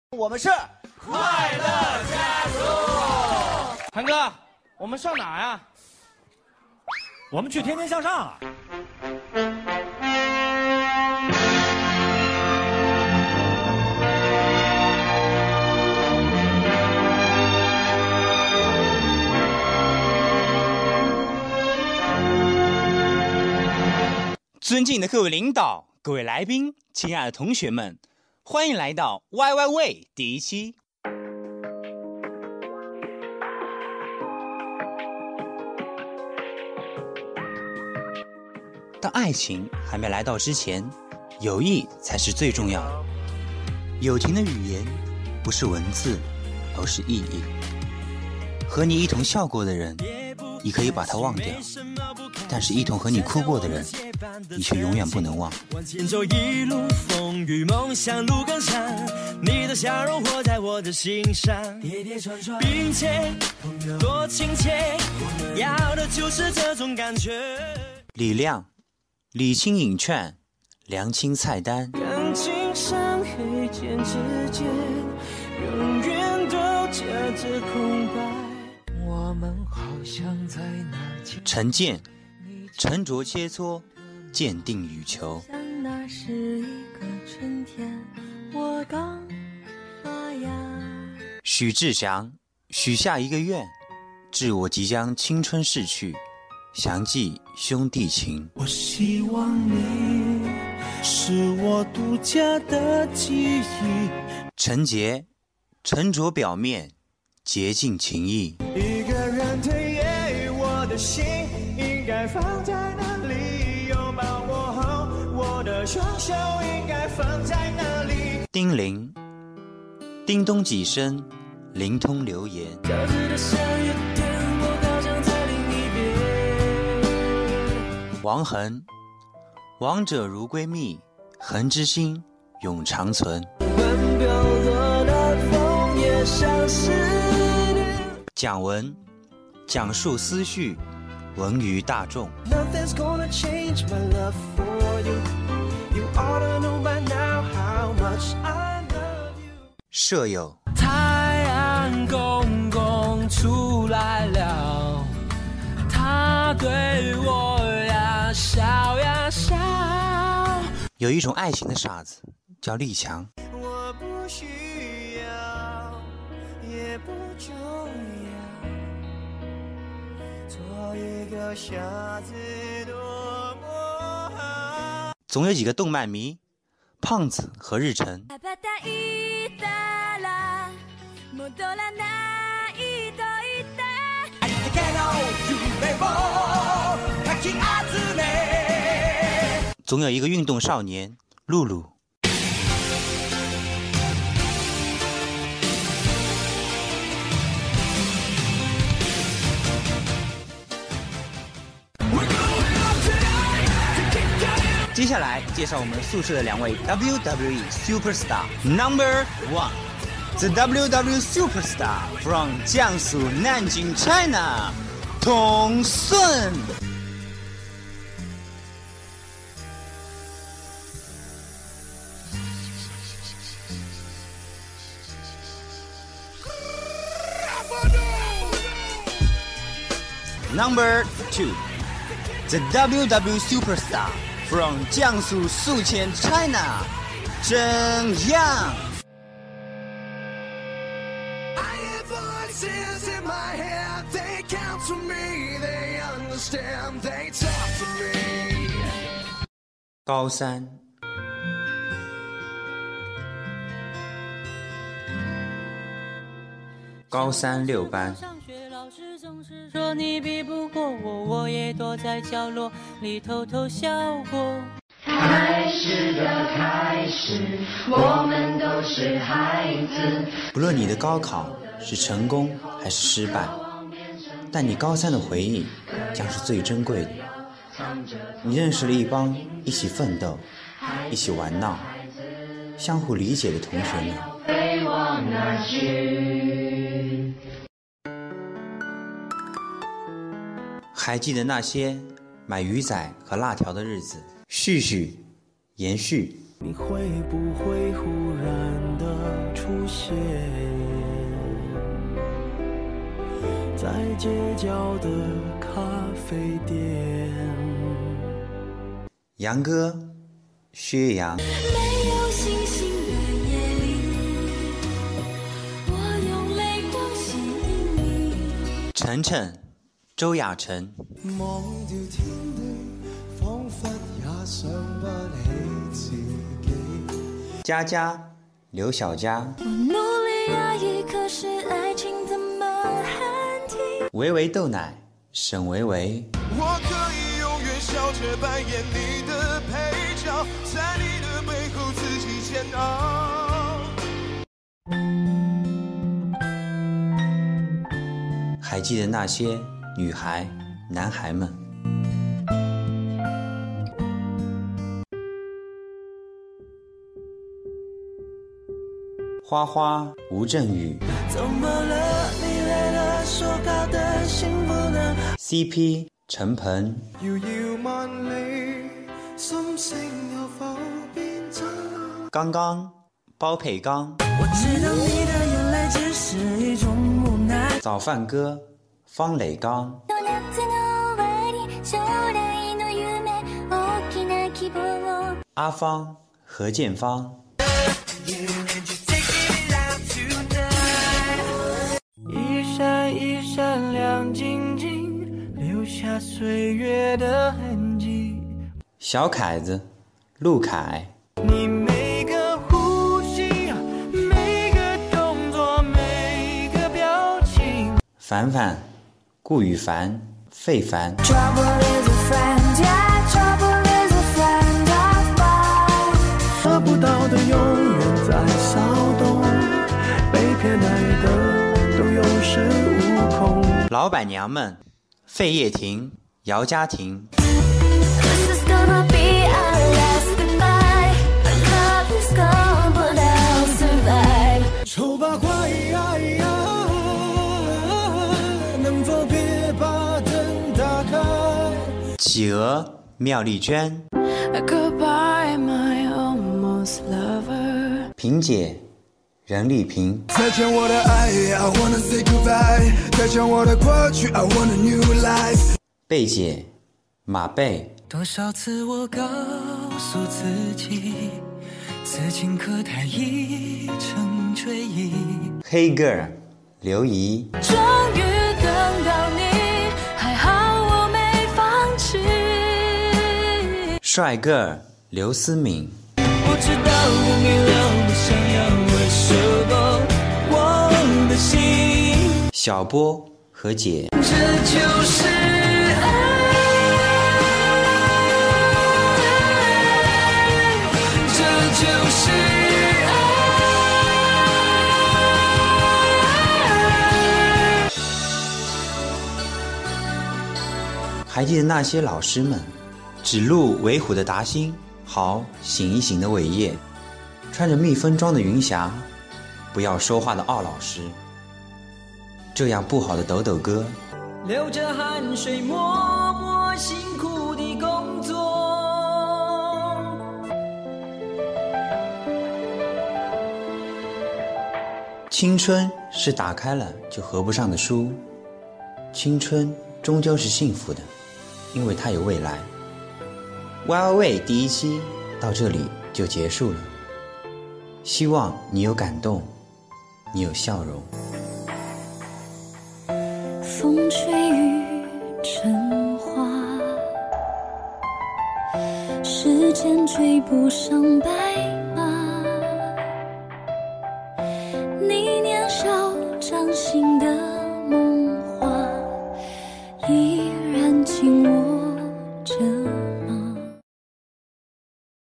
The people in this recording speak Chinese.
我们是快乐家族。 韩哥，我们上哪呀？ 我们去天天向上啊！ 尊敬的各位领导、各位来宾、亲爱的同学们，欢迎来到 YY way 第一期。当爱情还没来到之前，友谊才是最重要的。友情的语言不是文字，而是意义。和你一同笑过的人，你可以把他忘掉，但是一同和你哭过的人，你却永远不能忘。 往前走一路风雨，梦想路更长，你的笑容活在我的心上，跌跌撞撞并且多亲切，要的就是这种感觉。 李亮，礼轻饮券，良亲菜单。 感情像黑键之间，永远都夹着空白。我们好像在哪儿见。 陈建，沉着切磋，坚定羽球。 像那是一个春天，我刚发芽。 许志祥，许下一个愿，致我即将青春逝去，详记兄弟情。 我希望你是我独家的记忆。 陈杰，沉着表面，洁净情谊。 一个人的夜，我的心应该放在哪里？拥抱我后，我的双手应该放在哪里？ 丁玲，叮咚几声，灵通流言。 交织的下雨天，我好像在另一边。 王恒，王者如闺蜜，恒之心永长存。 when飘落的枫叶像思念。 蒋文，讲述思绪，闻于大众。 Nothing's gonna change my love for you. You ought to know by now how much I love you. 舍友， 太阳公公出来了，他对我呀笑呀笑。 有一种爱情的傻子叫立强。 我不需要，也不重要，做一个傻子多么好。 总有几个动漫迷，胖子和日程。总有一个运动少年，露露。接下来介绍我们宿舍的两位 WWE Superstar Number 1，The WWE Superstar from 江苏南京 China， 童顺。Number 2，The WWE Superstar from 江苏宿迁 China， 郑阳。高三，高三6班。 老师总是说你比不过我，我也躲在角落里偷偷笑过。 开始的开始，我们都是孩子。 不论你的高考是成功还是失败，但你高三的回忆将是最珍贵的。你认识了一帮一起奋斗、一起玩闹、相互理解的同学们。 飞往哪去？ 还记得那些买鱼仔和辣条的日子，续续延续。 你会不会忽然的出现，在街角的咖啡店。 杨哥，薛洋。 没有星星的夜里，我用泪光吸引你。 晨晨，周雅晨。 忘掉天地，仿佛也想不起自己。 佳佳，刘小佳。 我努力压抑，可是爱情怎么喊停？ 维维豆奶，沈维维。 我可以永远笑着扮演你的配角，在你的背后自己煎熬。 还记得那些女孩、男孩们。花花，吴镇宇。 怎么了？你累了，说好的幸福呢 CP 陈鹏。 遙遙萬里，心聲有否變真？ 剛剛，包佩剛。 我知道你的眼淚只是一種無奈。 早飯哥，方磊剛。阿芳，何建芳。 一闪一闪亮晶晶，留下岁月的痕迹。 小凯子，陆凯。 你每个呼吸，每个动作，每个表情。 凡凡，顾羽凡，费凡。 得不到的永远在骚动，被偏爱的都有恃无恐。 老板娘们，费叶婷，姚嘉婷。 丑八怪，能否别把灯打开？ 企鹅，妙丽娟。 Goodbye, my almost lover。 萍姐，任丽萍。 再见我的爱 I wanna say goodbye。再见我的过去 I want a new life。 贝姐，马贝。 多少次我告诉自己，此情可待已成追忆。 黑 girl， 刘怡。 终于等到你，还好我没放弃。 帅哥，刘思敏。 我知道你了，我想要为什么我的心。 小波和姐。 这就是爱，这就是爱。 还记得那些老师们，指路为虎的达兴，好醒一醒的伟业，穿着蜜蜂装的云霞，不要说话的奥老师，这样不好的抖抖哥， 流着汗水默默辛苦的工作。 青春是打开了就合不上的书，青春终究是幸福的，因为它有未来。Wild Way 第一期到这里就结束了，希望你有感动，你有笑容。 风吹雨成花，时间追不上白马，你年少掌心的梦话，一